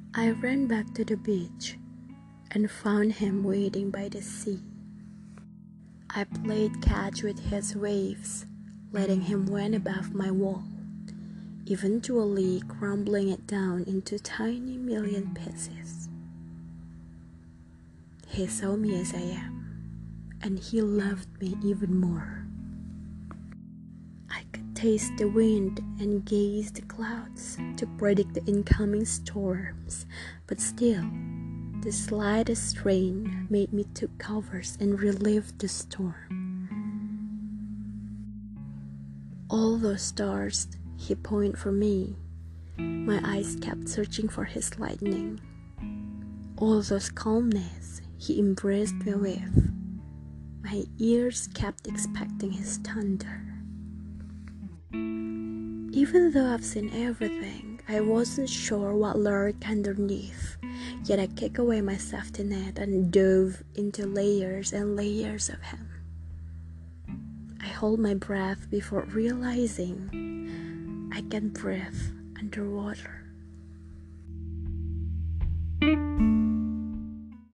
I ran back to the beach and found him waiting by the sea. I played catch with his waves, letting him win above my wall, eventually crumbling it down into tiny million pieces. He saw me as I am, and he loved me even more. I could taste the wind and gaze the clouds to predict the incoming storms, but still, the slightest rain made me take covers and relieve the storm. All those stars he pointed for me, my eyes kept searching for his lightning. All those calmness he embraced me with, my ears kept expecting his thunder. Even though I've seen everything, I wasn't sure what lurked underneath, yet I kicked away my safety net and dove into layers and layers of him. I hold my breath before realizing I can breathe underwater.